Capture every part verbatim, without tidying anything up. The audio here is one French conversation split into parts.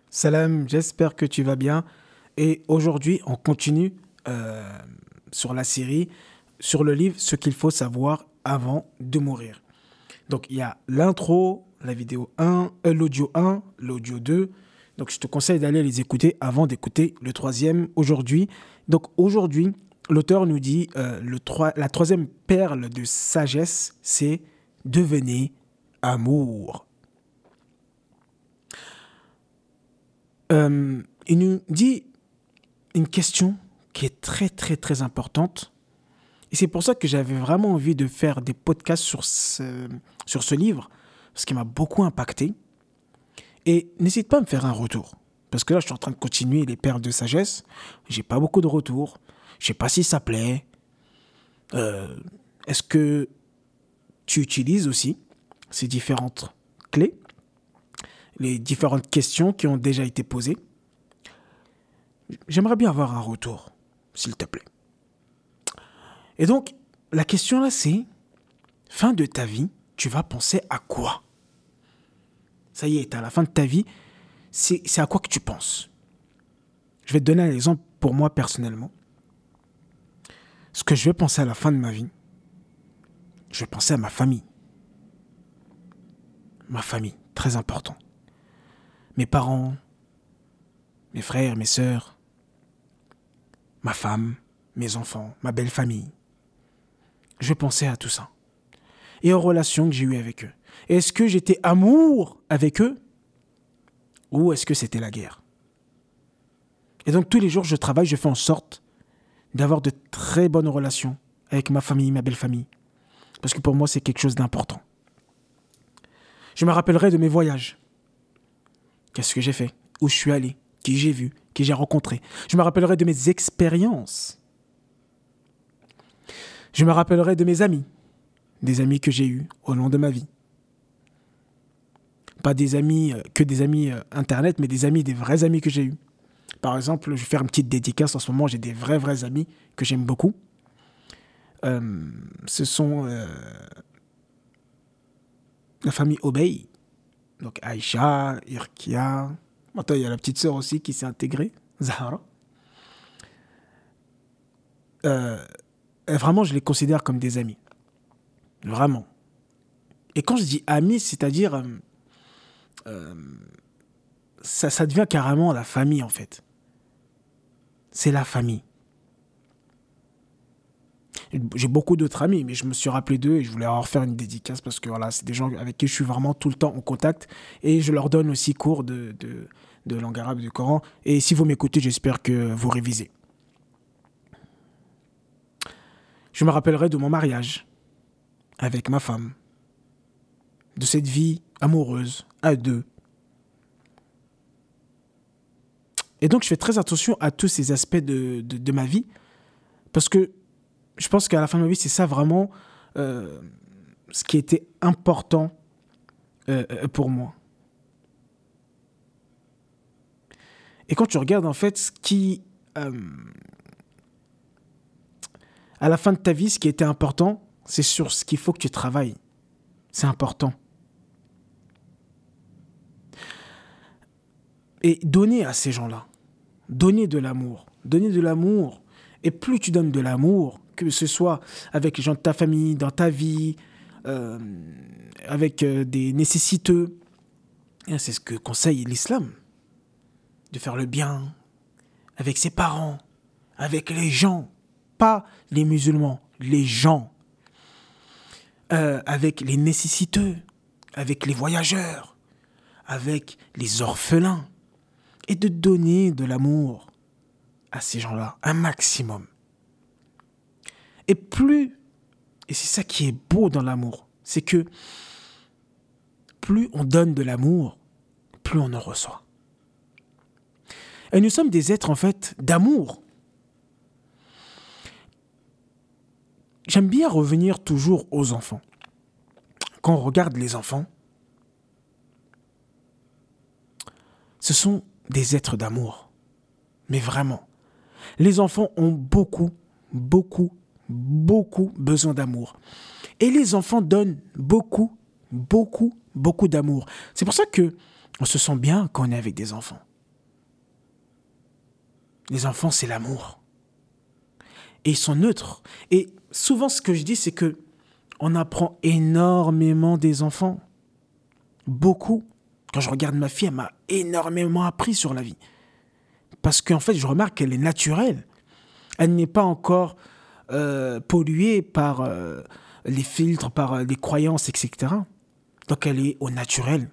Salam, j'espère que tu vas bien. Et aujourd'hui, on continue euh, sur la série, sur le livre Ce qu'il faut savoir avant de mourir. Donc, il y a l'intro, la vidéo un, euh, l'audio un, l'audio deux. Donc, je te conseille d'aller les écouter avant d'écouter le troisième aujourd'hui. Donc, aujourd'hui, l'auteur nous dit euh, le trois- la troisième perle de sagesse, c'est devenez amour. Euh, il nous dit une question qui est très très très importante. Et c'est pour ça que j'avais vraiment envie de faire des podcasts sur ce, sur ce livre, parce qu'il m'a beaucoup impacté. Et n'hésite pas à me faire un retour. Parce que là, je suis en train de continuer les perles de sagesse. J'ai pas beaucoup de retours. Je sais pas si ça plaît. Euh, est-ce que tu utilises aussi ces différentes clés, les différentes questions qui ont déjà été posées? J'aimerais bien avoir un retour, s'il te plaît. Et donc, la question là, c'est, fin de ta vie, tu vas penser à quoi? Ça y est, à la fin de ta vie, c'est, c'est à quoi que tu penses? Je vais te donner un exemple pour moi personnellement. Ce que je vais penser à la fin de ma vie, je vais penser à ma famille. Ma famille, très important. Mes parents, mes frères, mes sœurs, ma femme, mes enfants, ma belle famille. Je vais penser à tout ça. Et aux relations que j'ai eues avec eux. Est-ce que j'étais amour avec eux? Ou est-ce que c'était la guerre? Et donc tous les jours, je travaille, je fais en sorte d'avoir de très bonnes relations avec ma famille, ma belle famille. Parce que pour moi, c'est quelque chose d'important. Je me rappellerai de mes voyages. Qu'est-ce que j'ai fait? Où je suis allé? Qui j'ai vu? Qui j'ai rencontré? Je me rappellerai de mes expériences. Je me rappellerai de mes amis. Des amis que j'ai eus au long de ma vie. Pas des amis, euh, que des amis euh, internet, mais des amis, des vrais amis que j'ai eus. Par exemple, je vais faire une petite dédicace en ce moment, j'ai des vrais, vrais amis que j'aime beaucoup. Euh, ce sont euh, la famille Obey, donc Aïcha, Irkia. Maintenant, il y a la petite sœur aussi qui s'est intégrée, Zahara. Euh, et vraiment, je les considère comme des amis. Vraiment. Et quand je dis amis, c'est-à-dire, euh, euh, ça, ça devient carrément la famille, en fait. C'est la famille. J'ai beaucoup d'autres amis, mais je me suis rappelé d'eux et je voulais leur faire une dédicace parce que voilà, c'est des gens avec qui je suis vraiment tout le temps en contact et je leur donne aussi cours de, de, de langue arabe du Coran. Et si vous m'écoutez, j'espère que vous révisez. Je me rappellerai de mon mariage avec ma femme, de cette vie amoureuse à deux. Et donc, je fais très attention à tous ces aspects de, de, de ma vie parce que je pense qu'à la fin de ma vie, c'est ça vraiment euh, ce qui était important euh, pour moi. Et quand tu regardes, en fait, ce qui, euh, à la fin de ta vie, ce qui était important, c'est sur ce qu'il faut que tu travailles. C'est important. Et donner à ces gens-là, donner de l'amour, donner de l'amour. Et plus tu donnes de l'amour, que ce soit avec les gens de ta famille, dans ta vie, euh, avec euh, des nécessiteux, et c'est ce que conseille l'islam, de faire le bien avec ses parents, avec les gens, pas les musulmans, les gens, euh, avec les nécessiteux, avec les voyageurs, avec les orphelins, et de donner de l'amour à ces gens-là, un maximum. Et plus, et c'est ça qui est beau dans l'amour, c'est que plus on donne de l'amour, plus on en reçoit. Et nous sommes des êtres, en fait, d'amour. J'aime bien revenir toujours aux enfants. Quand on regarde les enfants, ce sont des êtres d'amour. Mais vraiment. Les enfants ont beaucoup, beaucoup, beaucoup besoin d'amour. Et les enfants donnent beaucoup, beaucoup, beaucoup d'amour. C'est pour ça que on se sent bien quand on est avec des enfants. Les enfants, c'est l'amour. Et ils sont neutres. Et souvent, ce que je dis, c'est que on apprend énormément des enfants. Beaucoup. Quand je regarde ma fille, elle m'a énormément appris sur la vie. Parce qu'en fait, je remarque qu'elle est naturelle. Elle n'est pas encore euh, polluée par euh, les filtres, par euh, les croyances, et cetera. Donc, elle est au naturel.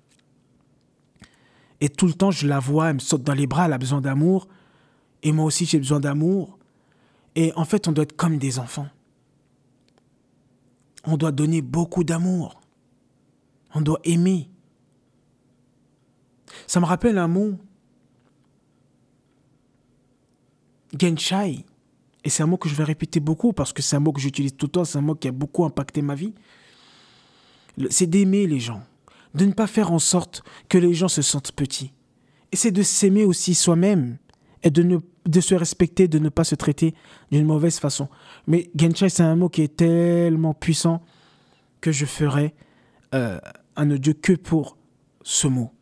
Et tout le temps, je la vois, elle me saute dans les bras, elle a besoin d'amour. Et moi aussi, j'ai besoin d'amour. Et en fait, on doit être comme des enfants. On doit donner beaucoup d'amour. On doit aimer. Ça me rappelle un mot. Genshai. Et c'est un mot que je vais répéter beaucoup parce que c'est un mot que j'utilise tout le temps. C'est un mot qui a beaucoup impacté ma vie. C'est d'aimer les gens. De ne pas faire en sorte que les gens se sentent petits. Et c'est de s'aimer aussi soi-même. Et de, ne, de se respecter, de ne pas se traiter d'une mauvaise façon. Mais Genshai, c'est un mot qui est tellement puissant que je ferai euh, un audio que pour ce mot.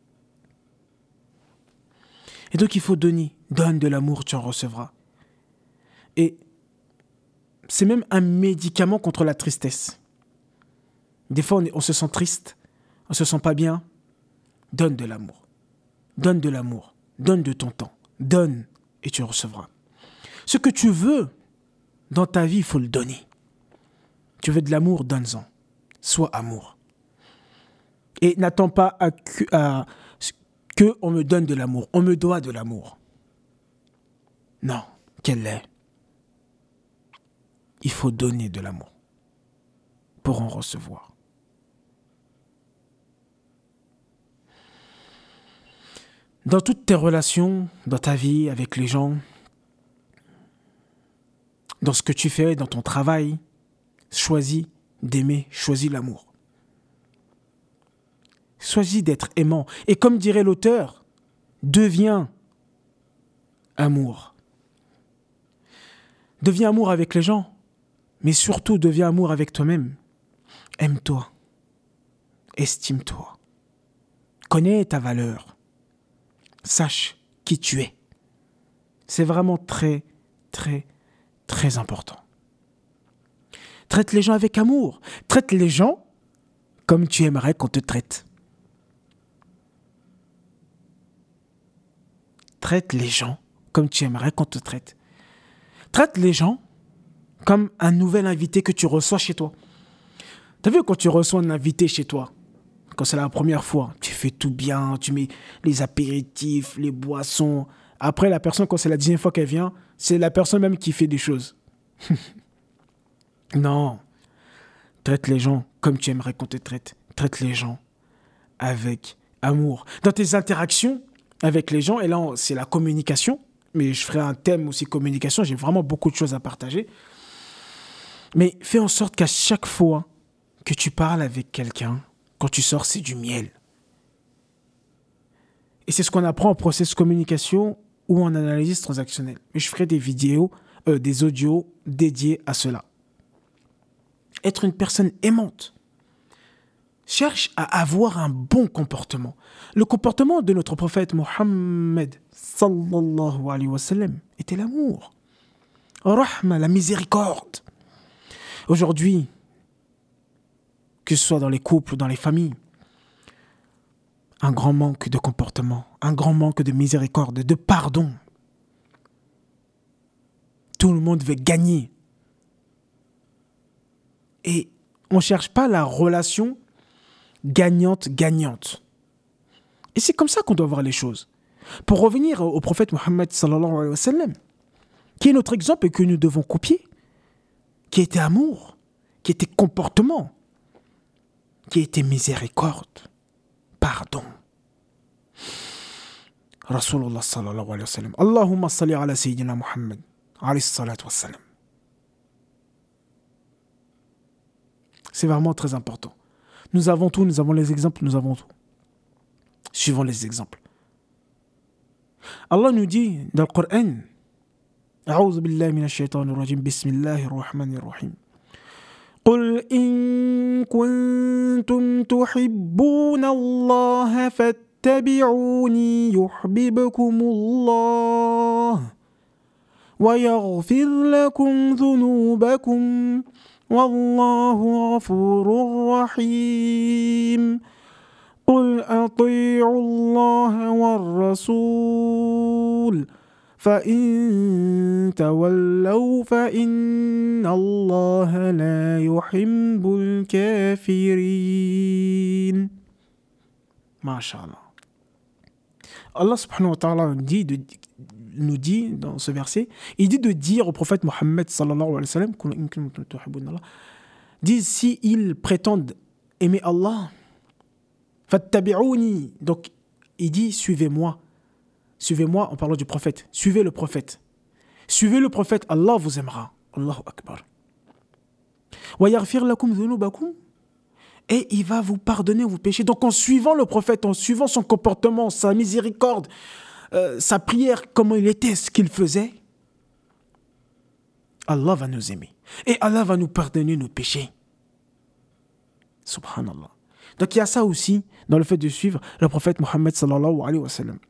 Et donc il faut donner. Donne de l'amour, tu en recevras. Et c'est même un médicament contre la tristesse. Des fois, on, est, on se sent triste, on se sent pas bien. Donne de l'amour. Donne de l'amour. Donne de ton temps. Donne et tu recevras. Ce que tu veux dans ta vie, il faut le donner. Tu veux de l'amour, donne-en. Sois amour. Et n'attends pas à que, à, que on me donne de l'amour. On me doit de l'amour. Non, quel est? Il faut donner de l'amour pour en recevoir. Dans toutes tes relations, dans ta vie, avec les gens, dans ce que tu fais, dans ton travail, choisis d'aimer, choisis l'amour. Choisis d'être aimant. Et comme dirait l'auteur, deviens amour. Deviens amour avec les gens, mais surtout deviens amour avec toi-même. Aime-toi. Estime-toi. Connais ta valeur. Sache qui tu es. C'est vraiment très, très, très important. Traite les gens avec amour. Traite les gens comme tu aimerais qu'on te traite. Traite les gens comme tu aimerais qu'on te traite. Traite les gens comme un nouvel invité que tu reçois chez toi. T'as vu quand tu reçois un invité chez toi, quand c'est la première fois, tu fais tout bien, tu mets les apéritifs, les boissons. Après, la personne, quand c'est la dixième fois qu'elle vient, c'est la personne même qui fait des choses. Non. Traite les gens comme tu aimerais qu'on te traite. Traite les gens avec amour. Dans tes interactions avec les gens, et là, c'est la communication, mais je ferai un thème aussi communication, j'ai vraiment beaucoup de choses à partager. Mais fais en sorte qu'à chaque fois que tu parles avec quelqu'un, quand tu sors, c'est du miel. Et c'est ce qu'on apprend en process communication ou en analyse transactionnelle. Mais je ferai des vidéos, euh, des audios dédiés à cela. Être une personne aimante. Cherche à avoir un bon comportement. Le comportement de notre prophète Mohammed sallallahu alayhi wa sallam était l'amour. Rahma, la miséricorde. Aujourd'hui, que ce soit dans les couples ou dans les familles, un grand manque de comportement, un grand manque de miséricorde, de pardon. Tout le monde veut gagner. Et on ne cherche pas la relation gagnante-gagnante. Et c'est comme ça qu'on doit voir les choses. Pour revenir au prophète Mohammed sallallahu alayhi wa sallam, qui est notre exemple et que nous devons copier, qui était amour, qui était comportement, qui était miséricorde, pardon. Rasulullah sallallahu alayhi wa sallam. Allahumma salli ala sayyidina Muhammad alayhi salatu wa sallam. C'est vraiment très important. Nous avons tout, nous avons les exemples, nous avons tout. Suivons les exemples. Allah nous dit dans le Coran, A'udhu billahi minash shaitanir rajim, bismillahir rahmanir rahim. قل إن كنتم تحبون الله فاتبعوني يحببكم الله ويغفر لكم ذنوبكم والله غفور رحيم قل أطيعوا الله والرسول فإن تولوا فإن الله لا يحب الكافرين. Masha'Allah. Allah subhanahu wa ta'ala dit de, nous dit dans ce verset, il dit de dire au prophète Mohammed sallallahu alayhi wa sallam, dit si ils prétendent aimer Allah, fattabi'ouni, donc il dit suivez-moi, suivez-moi en parlant du prophète, suivez le prophète, suivez le prophète, Allah vous aimera. Allahu Akbar. Wa yaghfir lakum dhunubakum, et il va vous pardonner vos péchés. Donc en suivant le prophète, en suivant son comportement, sa miséricorde, euh, sa prière, comment il était, ce qu'il faisait, Allah va nous aimer. Et Allah va nous pardonner nos péchés. Subhanallah. Donc il y a ça aussi dans le fait de suivre le prophète Mohammed sallallahu alayhi wa sallam.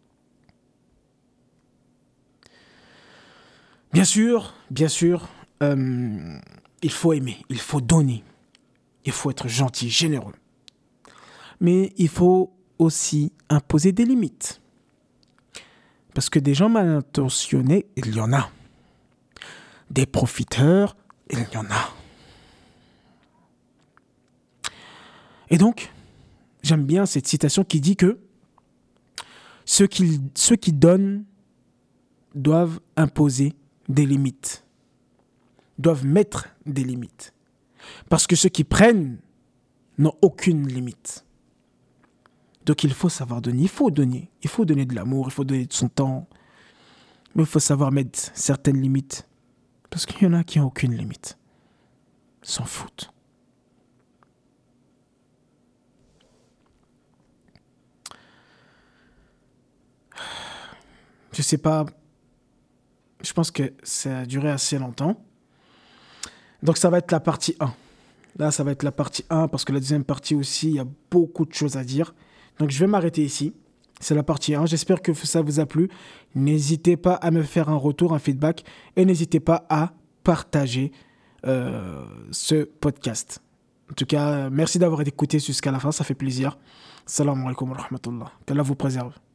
Bien sûr, bien sûr, euh, il faut aimer, il faut donner. Il faut être gentil, généreux. Mais il faut aussi imposer des limites. Parce que des gens mal intentionnés, il y en a. Des profiteurs, il y en a. Et donc, j'aime bien cette citation qui dit que ceux qui, ceux qui donnent doivent imposer des limites, doivent mettre des limites. Parce que ceux qui prennent n'ont aucune limite. Donc il faut savoir donner, il faut donner, il faut donner de l'amour, il faut donner de son temps, mais il faut savoir mettre certaines limites. Parce qu'il y en a qui n'ont aucune limite. Ils s'en foutent. Je sais pas, je pense que ça a duré assez longtemps. Donc ça va être la partie un. Là, ça va être la partie un parce que la deuxième partie aussi, il y a beaucoup de choses à dire. Donc je vais m'arrêter ici. C'est la partie un. J'espère que ça vous a plu. N'hésitez pas à me faire un retour, un feedback. Et n'hésitez pas à partager euh, ce podcast. En tout cas, merci d'avoir écouté jusqu'à la fin. Ça fait plaisir. Salam alaikum wa rahmatullah. Qu'Allah vous préserve.